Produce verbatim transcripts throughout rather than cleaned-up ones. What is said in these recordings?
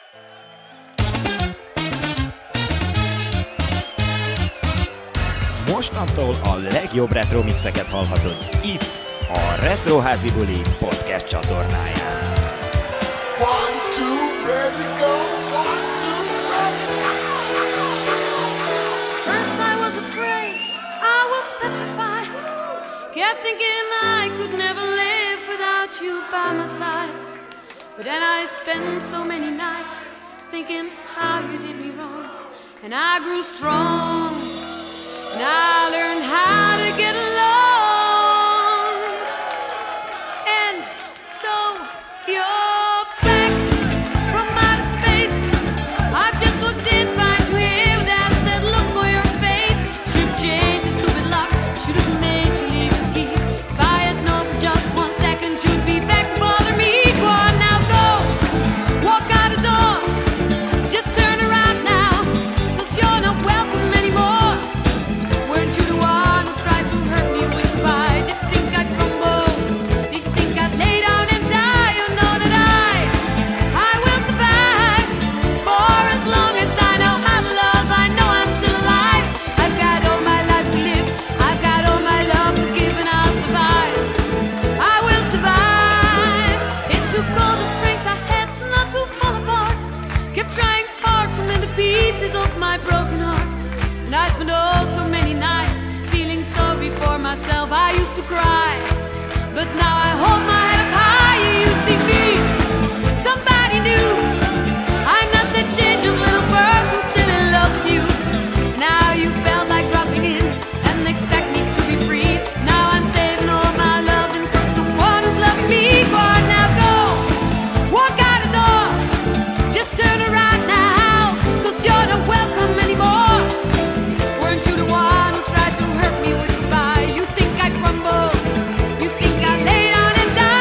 Mostantól a legjobb retro mixeket hallhatod itt, a Retroházi Buli podcast csatornáján. One, two, ready, go. One, two, ready. First I was afraid, I was petrified. Kept thinking I could never live without you by my side. But then I spent so many nights thinking how you did me wrong. And I grew strong, and I learned how to get along. And so you're back from outer space. I've just walked in to find you here with that said look for your face. Should've changed the stupid lock, should've made you leave the key. If I had known for just one second you'd be back to bother me. Go on now, go, walk out the door. Just turn around now, 'cause you're not welcome anymore. Weren't you the one who tried to hurt me with pride? Did you think I'd crumble? Did you think I'd lay down and die? You know that I, I will survive. For as long as I know how to love, I know I'm still alive. I've got all my life to live, I've got all my love to give, and I'll survive. I will survive. It took all the strength I had not to fall apart. Kept trying hard to mend the pieces of my broken heart. And I spent oh so many nights feeling sorry for myself. I used to cry, but now I hold my head up higher. You see me, somebody new. I'm not that change of little person still in love with you. Now you felt like dropping in and expect me to be free. Now I'm saving all my love and for someone who's loving me. Go on now, go, walk out the door. Just turn around now, 'cause you're not welcome anymore. Weren't you the one who tried to hurt me with goodbye? You think I crumble? You think I lay down and die?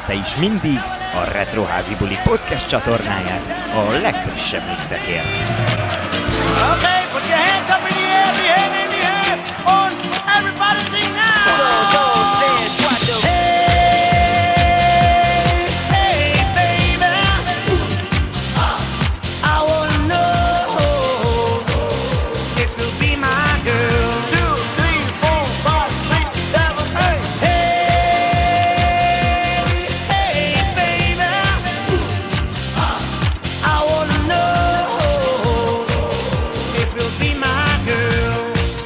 kísérte is mindig a Retroházi Buli podcast csatornáját a legfrissebb mixekért. Okay, put your hands up in the air, the hand in the air, on everybody sing now. Hey, hey, baby, I wanna know if you'll be my girl. Two, three, four, five, six, seven, eight. Hey, hey, baby, I wanna know if you'll be my girl.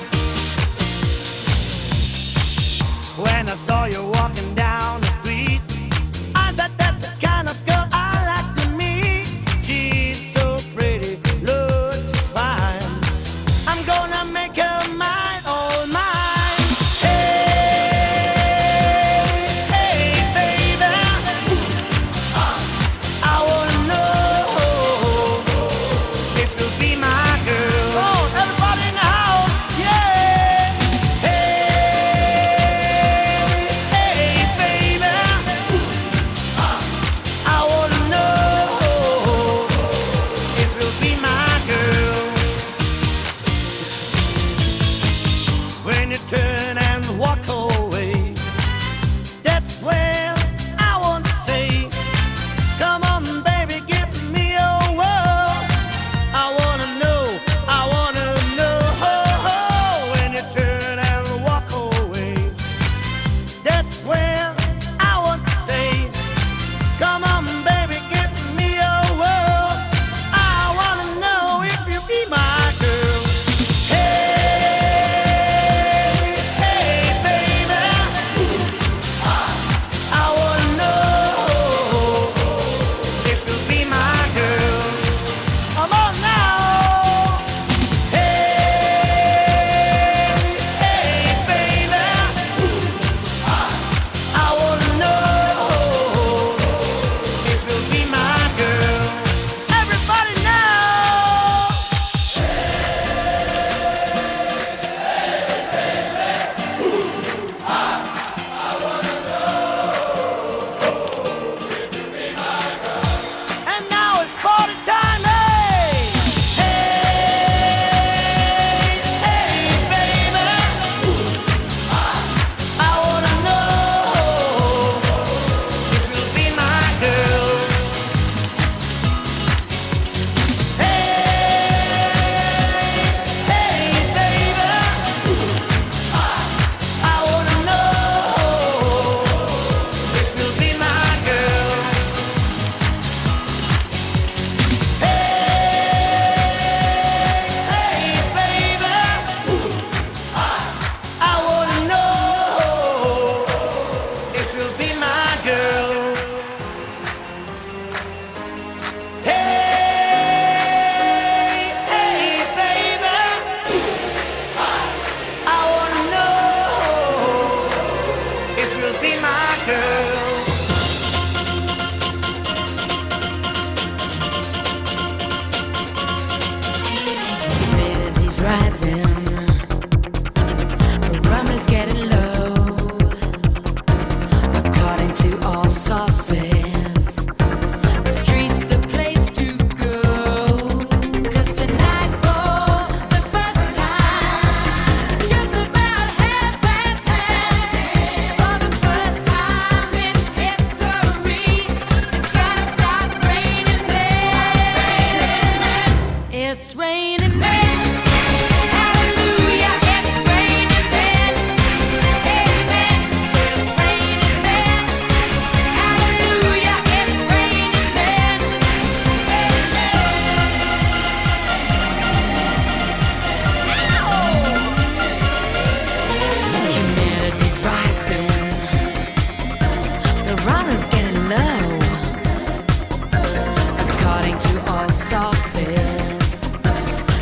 When I saw you walking down the street, I said that's the kind of girl I like to meet. She's so pretty, looks just fine. I'm gonna make her mine, all mine. Hey, hey, baby, I wanna know if you'll be my girl. Come on, everybody in the house, yeah. Hey, hey, baby, I wanna know if you'll be my girl. When you turn and walk away, that's when I want to say, come on, baby, give me your world. I wanna know, I wanna know. When you turn and walk away, that's when I want to say, come on, baby, give me your world. I wanna know if you be my girl. Hey, hey, baby, I wanna know if you be my girl. Come on now. Hey, hey, baby, I wanna know if you'll be my girl. Everybody now. And now it's party time, hey! Hey, hey, baby, I wanna know if you'll be my girl. Hey, hey, baby, I wanna know if you'll be my girl. Hey, baby, I wanna know if you'll be my girl. Hey, hey, baby, I wanna know if you'll be my girl. Humidity's rising, barometer's getting low. According to all sources, the street's the place to go. 'Cause tonight, for the first time, just about half past ten, for the first time in history, it's gonna start raining men. It's raining men. Hallelujah, it's raining men. Amen. It's raining men. Hallelujah, it's raining men. Amen. Humidity's rising. The runner's getting low. According to all sources,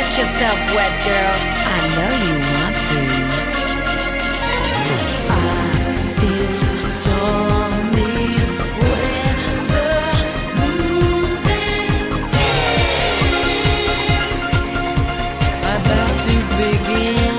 Get yourself wet, girl. I know you want to. I feel stormy weather moving in. About to begin.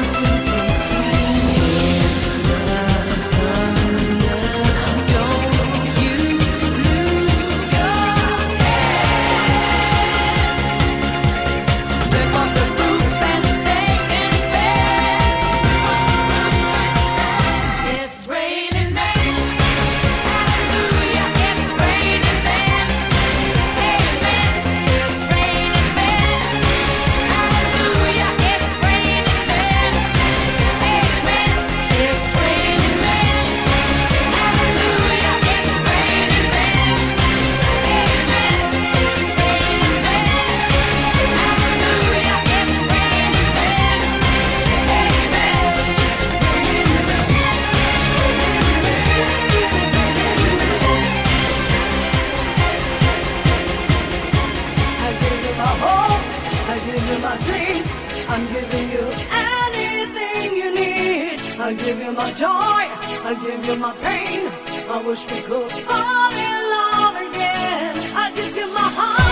I'll give you my joy, I'll give you my pain. I wish we could fall in love again. I'll give you my heart.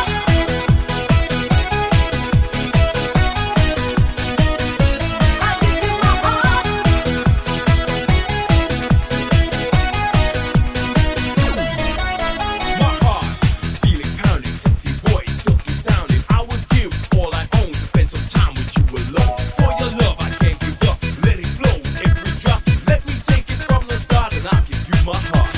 I'll give you my heart. My heart, feeling pounding, sexy voice, silky sounding. I would give all I own to spend some time with you alone. For your love, I can't give up. Let it flow. Let me take it from the start and I'll give you my heart.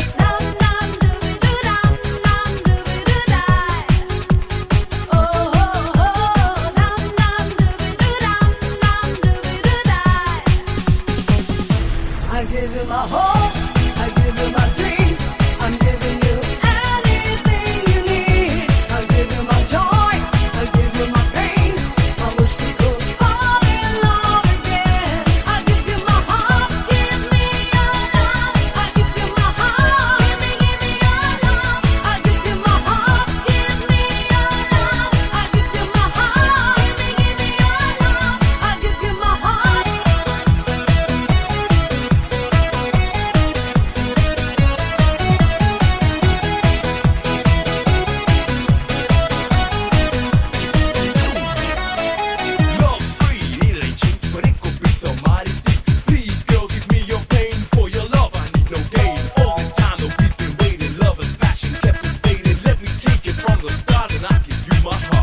I give you my hope, I give you my dreams. I'm giving you anything you need. I'll give you my joy, I'll give you my pain. I wish we could fall in love again. I'll give you my heart, give me your love. I'll give you my heart, give me, give me your love. I'll give you my heart, give me your love. I'll give you my heart, give me, give me your love. I'll give you my heart. Love free, it ain't cheap, but it could be some mighty steep. Please, girl, give me your pain. For your love, I need no gain. All this time that we've been waiting, love and passion kept us fading. Let me take it from the start and I'll give you my heart.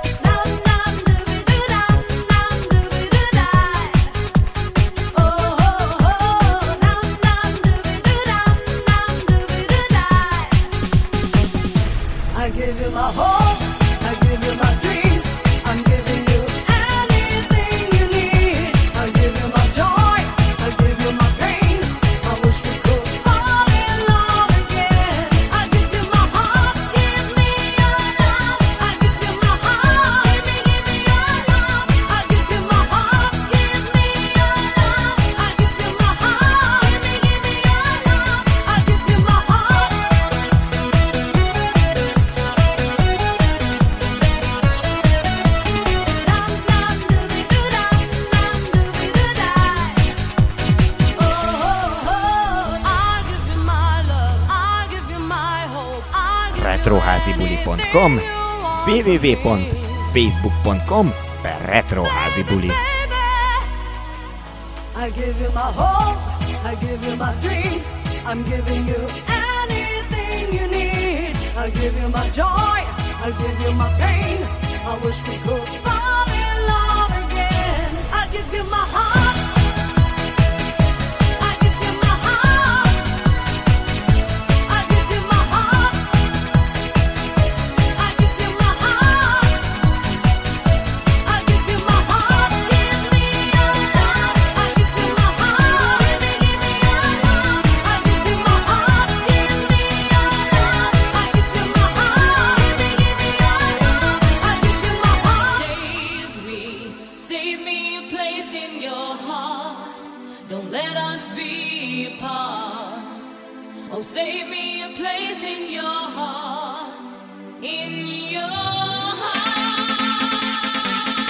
I give you my hope, I give you my dreams. I'm giving you anything you need. I'll give you my joy, I'll give you my pain. I wish we could fall in love again. I'll give you my heart, give me your love. I'll give you my heart, give me, give me your love. I'll give you my heart, give me your love. I'll give you my heart, give me, give me your love. I'll give you my heart. retroházibuli pont com, www pont facebook pont com per retroházibuli. I give you my hope, I give you my dreams. I'm giving you anything you need. I'll give you my joy, I'll give you my pain. I wish we could fall in love again. I'll give you my heart. I'll give you my heart. I'll give you my heart. I'll give you my heart. I'll give you my heart. Give me your love. I'll give you my heart. Give me, give me your love. I'll give you my heart. Give me your love. I'll give you my heart. Give me, give me your love. I'll give you my heart. Save me, save me a place in your heart. Don't let us be apart. Oh, save me a place in your heart, in your heart.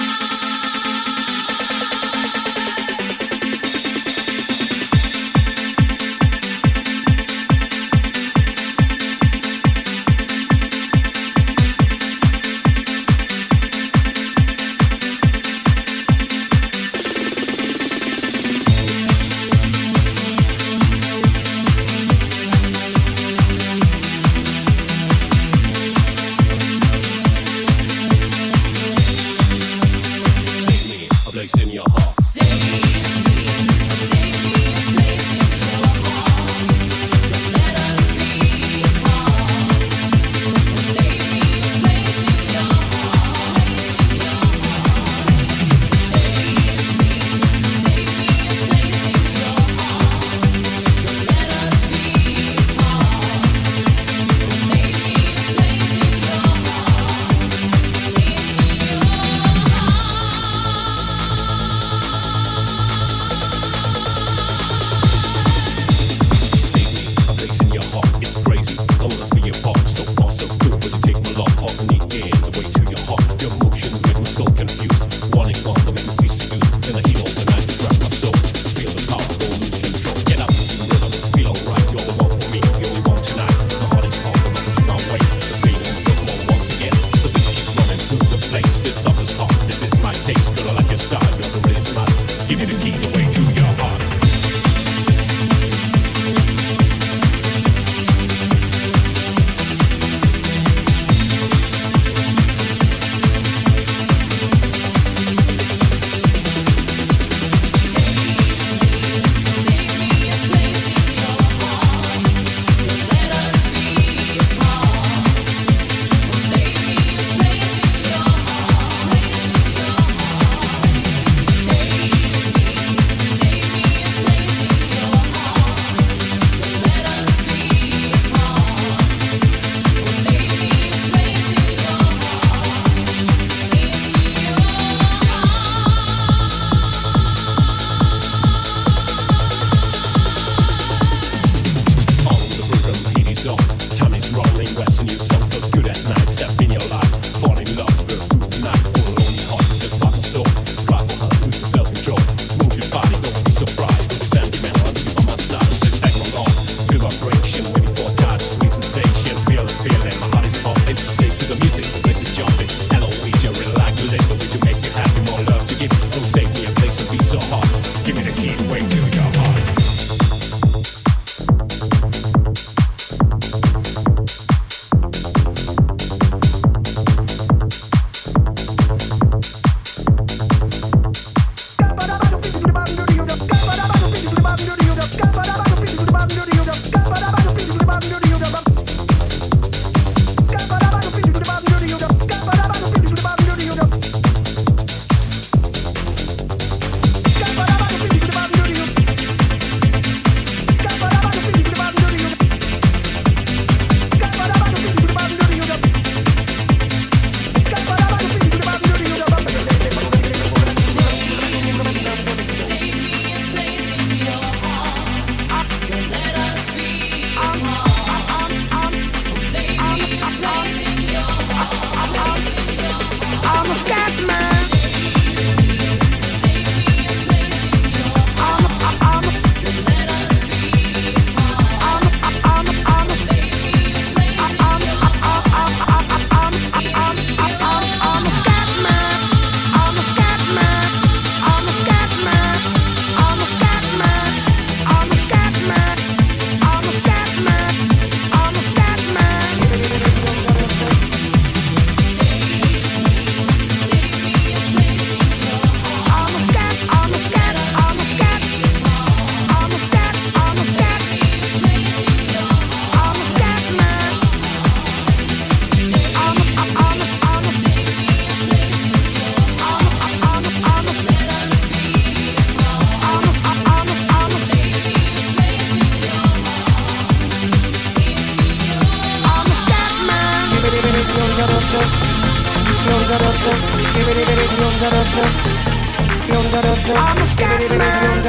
I'm a scat man.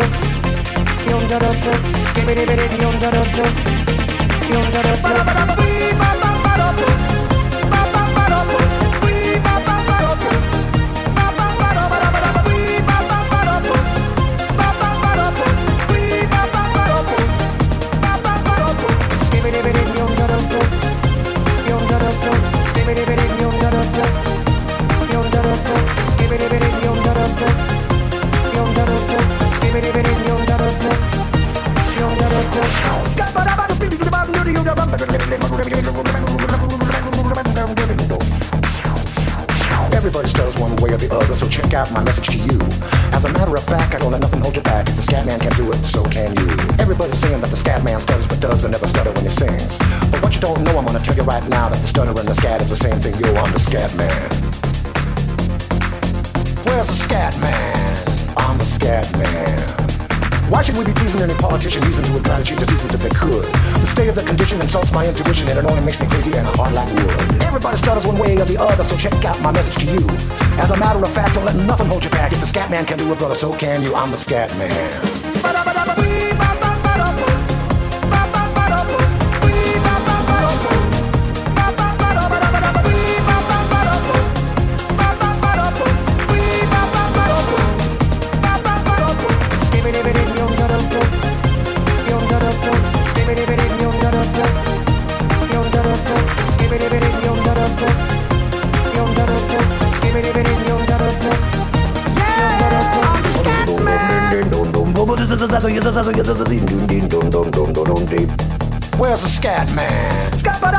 Everybody stutters one way or the other, so check out my message to you. As a matter of fact, I don't let nothing hold you back. If the scat man can do it, so can you. Everybody's saying that the scat man stutters but does and never stutter when he sings. But what you don't know, I'm gonna tell you right now that the stutter and the scat is the same thing. Yo, I'm the scat man. Where's the scat man? I'm the scat man. Why should we be pleasing any politician using to try to cheat diseases if they could? The state of the condition insults my intuition and it only makes me crazy and hard like wood. Everybody stutters one way or the other, so check out my message to you. As a matter of fact, don't let nothing hold you back. If the scat man can do it, brother, so can you. I'm the scat man. Where's the scat man?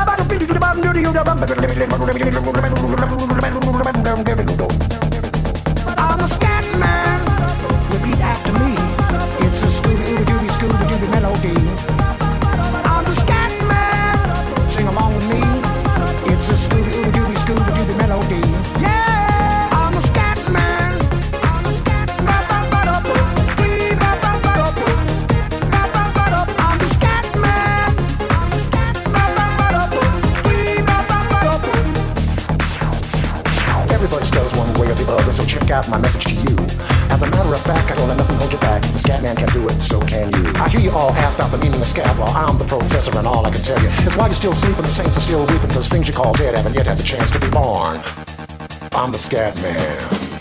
I'm the scat man. Repeat after me. It's a Scooby-Dooby, Scooby-Dooby melody. I'm the scat man. Sing along with me. It's a Scooby-Dooby, Scooby-Dooby melody. Yeah, I'm the scat man. I'm the scat man. I'm the scat man. Everybody stutters one way or the other, so check out my message to you. As a matter of fact, I don't let nothing hold you back. If the scat man can do it, so can you. I hear you all ask about the meaning of scat. Well, I'm the professor and all I can tell you is why you're still sleeping, the saints are still weeping, because things you call dead haven't yet had the chance to be born. I'm the scat man.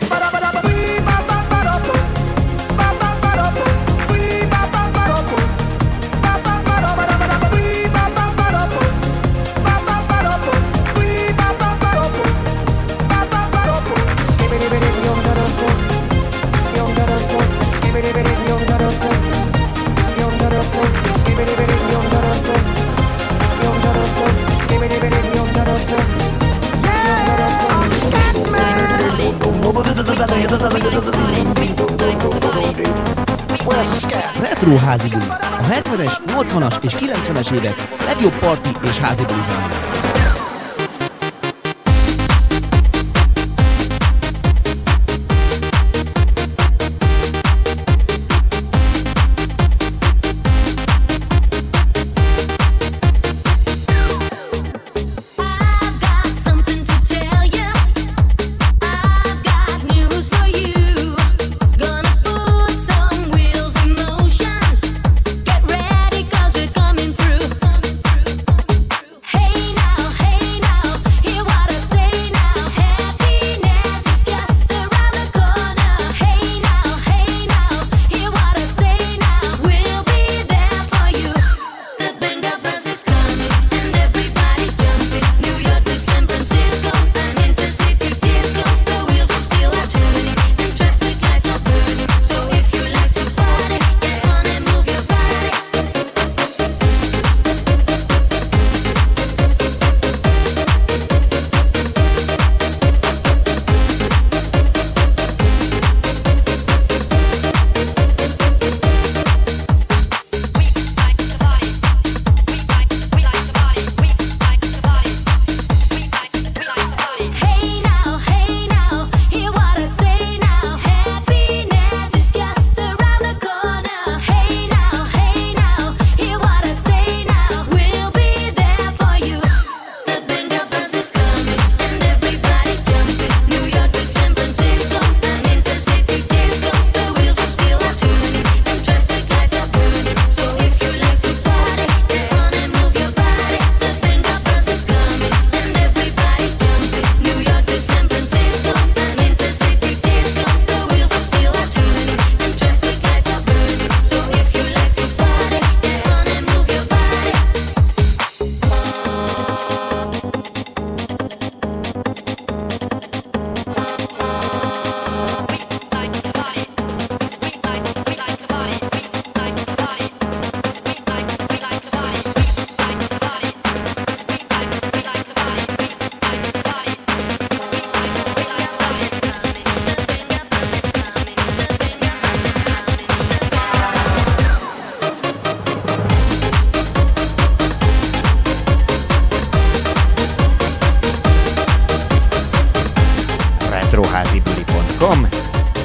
Retro házi buli. A hetvenes, nyolcvanas és kilencvenes évek legjobb parti és házi buli zenéje. Hey now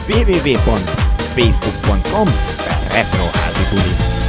double-u double-u double-u pont facebook pont com per retroházibuli.